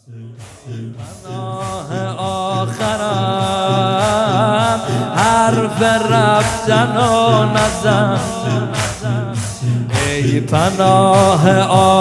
پناه آخرم حرف رفتن و نزن، ای پناه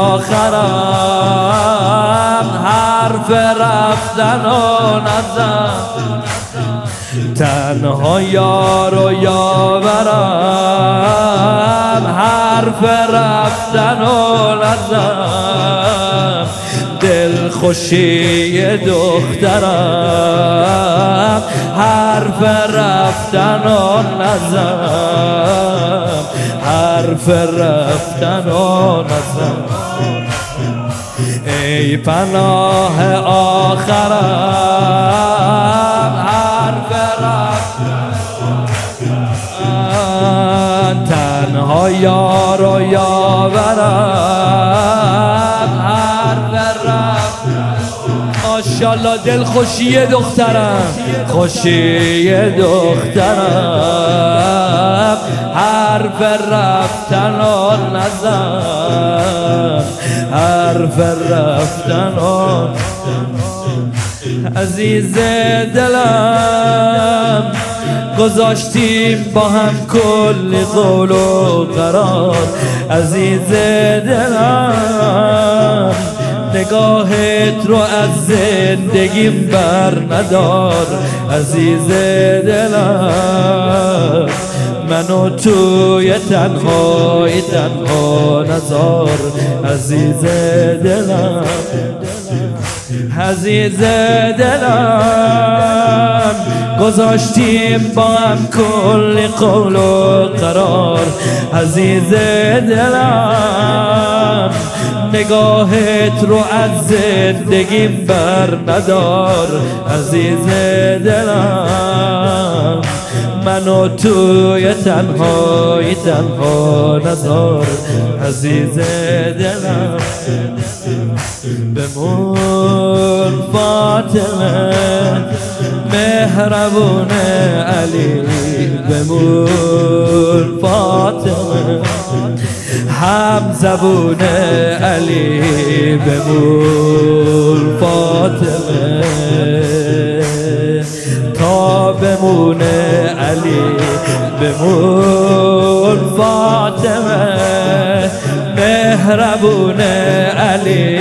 آخرم حرف رفتن و نزن، تنها یار و یاورم حرف رفتن و نزن، دل خوشی دخترم حرف رفتن و نزن، حرف رفتن و نزن، ای پناه آخرم حرف رفتن تنها یار و یاورم حرف رفتن. ماشاءالله دل خوشی دخترم، خوشی دخترم حرف رفتن و نزن، حرف رفتن و عزیز دلم گذاشتیم با هم کلی قول و قرار، عزیز دلم نگاهت رو از زندگیم بر ندار، عزیز دلم منو توی تنهایی تنها نذار، عزیز دلم عزیز دلم گذاشتیم با هم کلی قول و قرار، عزیز دلم نگاهت رو از زندگیم بر ندار، عزیز دلم منو توی تنهایی تنها نذار، عزیز دلم بمون فاطمه مهربون علی، بمون فاطمه هم زبون علی، بمون فاطمه تا بمونه علی، بمون فاطمه مهربون علی،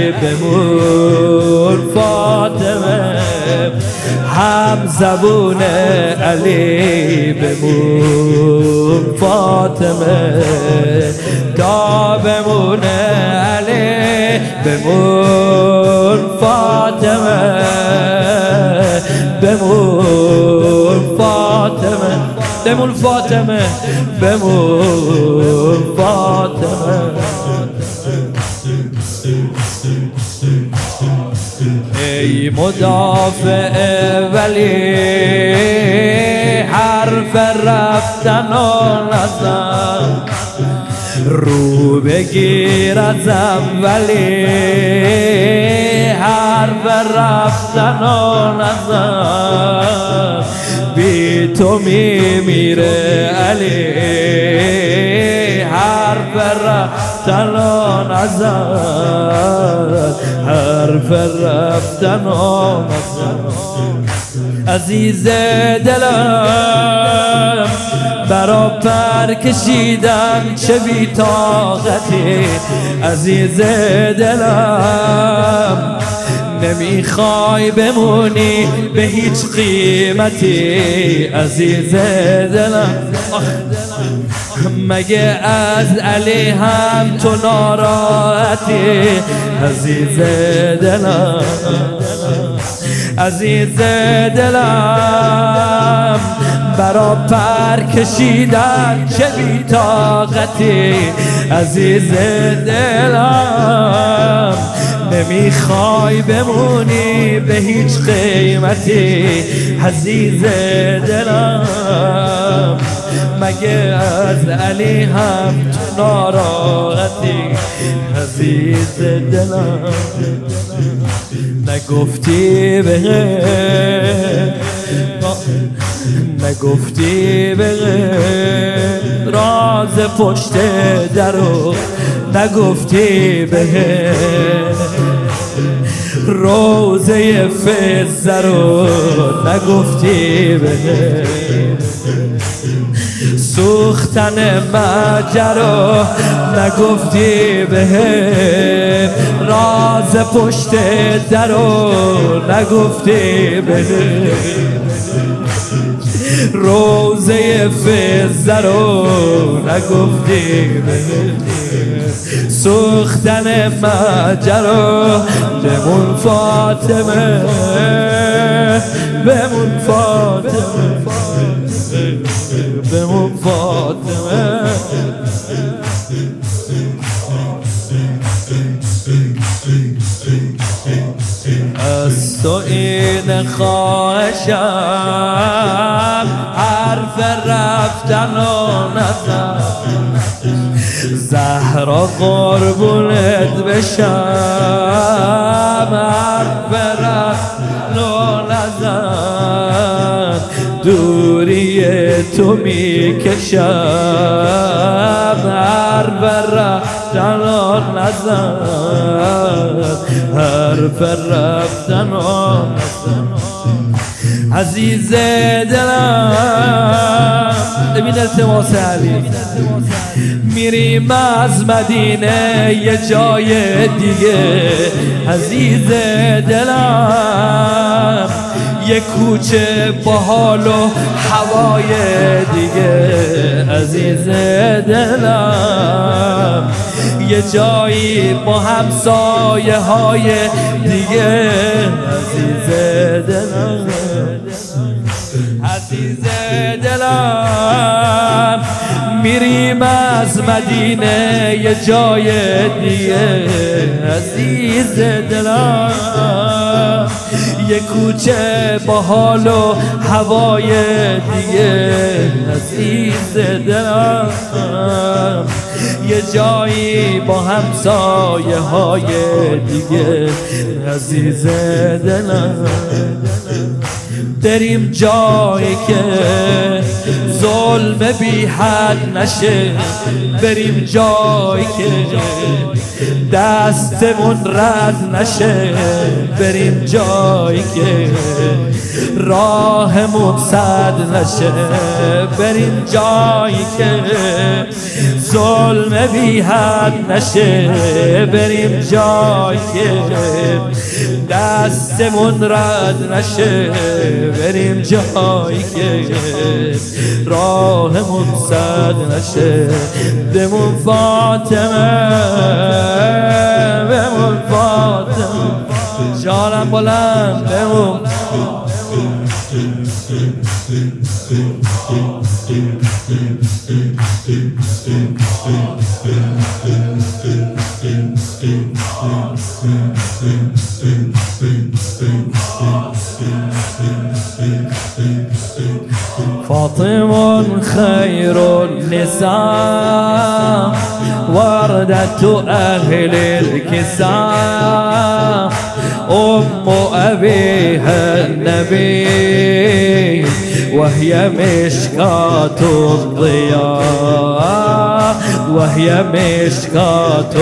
بمون فاطمه هم زبون علی، بمون فاطمه تا بمونه علی، بمون فاطمه بمون فاطمه بمون فاطمه بمون فاطمه. ای مدافع ولی حرف رفتن و نزن، رو بگیر ازم ولی حرف رفتن و نزن، بی تو میمیره علی حرف رفتن و نزن، حرف رفتن و نزن، عزیز دلم برا پر کشیدن چه بی طاقتی، عزیز دلم نمیخوای بمونی به هیچ قیمتی، عزیز دلم مگه از علی هم تو ناراحتی، عزیز دلم عزیز دلم برا پر کشیدن چه بی طاقتی، عزیز دلم نمیخوای بمونی به هیچ قیمتی، عزیز دلم مگه از علی هم تو ناراحتی، عزیز دلم نگفتی به نگفتی به راز پشت درو، نگفتی به روزه فزه رو نگفتی بهم، سوختن مجرا نگفتی بهم، راز پشت درو نگفتی بهم، روزه فزه رو نگفتی بهم، سوختن مجرا بمون فاطمه، بمون فاطمه، بمون فاطمه. از تو این خواهشم، حرف رفتن و نزن، زهرا قربونت بشم، حرف رفتن و نزن، دوری تو میکشم، حرف رفتن و نزن، حرف رفتن و نزن. عزیز دلم ببین التماس علی، میریم از مدینه یه جای دیگه، عزیز دلم یه کوچه با حال و هوای دیگه، عزیز دلم یه جایی با همسایه های دیگه، عزیز دلم، عزیز دلم میریم از مدینه یه جای دیگه، عزیز دلم یه کوچه با حال و هوای دیگه، عزیز دلم یه جایی با همسایه های دیگه، عزیز دلم بریم جایی که ظلم بی حد نشه، بریم جایی که دستمون رد نشه، بریم جایی که راهمون سد نشه، بریم جایی که ظلم بی حد نشه، بریم جایی که دستمون رد نشه، بریم جایی که راهمون سد نشه، بمون فاطمه، بمون فاطمه، جانم بلند بمون. فاطمة خير النساء، وردة أهل الكساء، أم أبيها النبي، وهي مشكاة الضياء، وهي مشكاة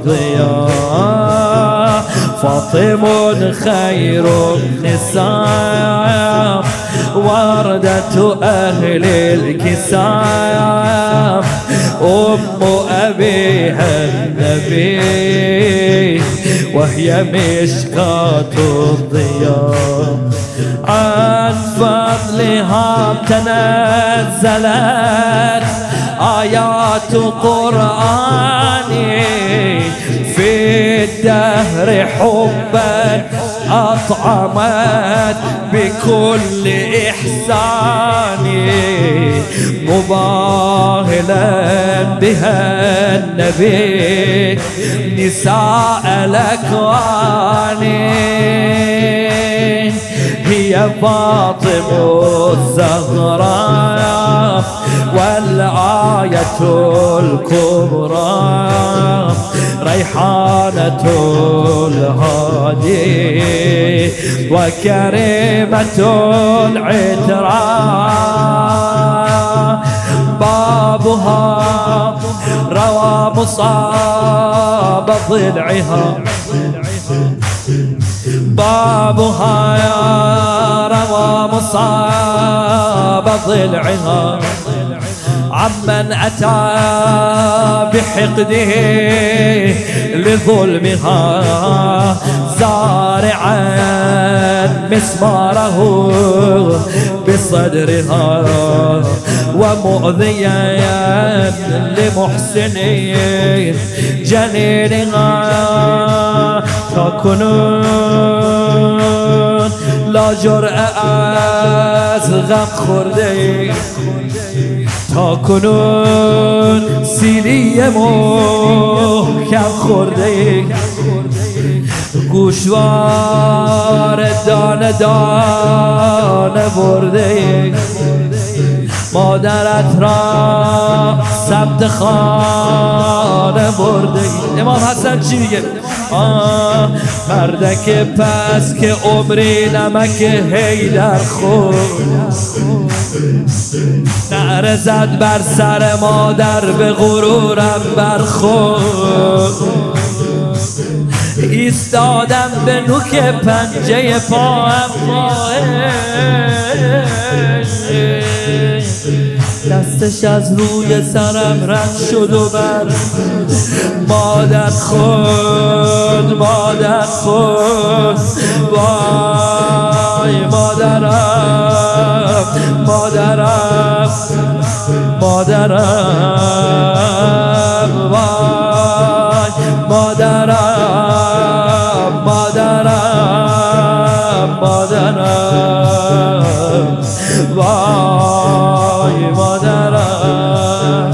الضياء. فاطمة خير النساء، وردة أهل الكساء، أم أبيها النبي، وهي مشكاة الضياء. عن فضلها تنزلت آيات قرآن، في الدهر حبا أطعمت بكل إحسان، مباهلا بها النبي نساء الأكوان. هي فاطمة الزهراء والآية الكبرى، ريحانة الهادي وكريمة العتراء. بابها روى مصاب ضلعها، بابها روى مصاب ضلعها عمن أتى بحقده لظلمها زارعا مسماره بصدرها ومؤذيا لمحسنين جنينها تكونون لا جرأة از غم خورده تا کنون سیلی محکم خورده گوشوار دانه دانه برده مادرت را ثبت خانه برده. امام حسن چی میگه؟ مردک پس که عمری نمک حیدر خورد نعره زد بر سر مادر به غرورم برخورد ایستادم به نوک پنجه پاهم دستش از روی سرم رد شد و بر مادر خود مادر خود وای مادرم مادرم مادرم وای مادرم مادرم مادرم وای مادرم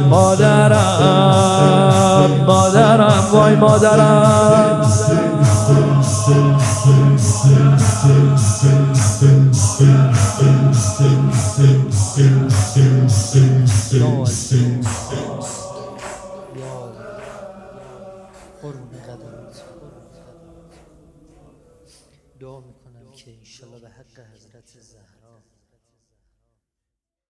مادرم مادرم وای مادرم دعا میکنم که انشالله به حق حضرت زهرا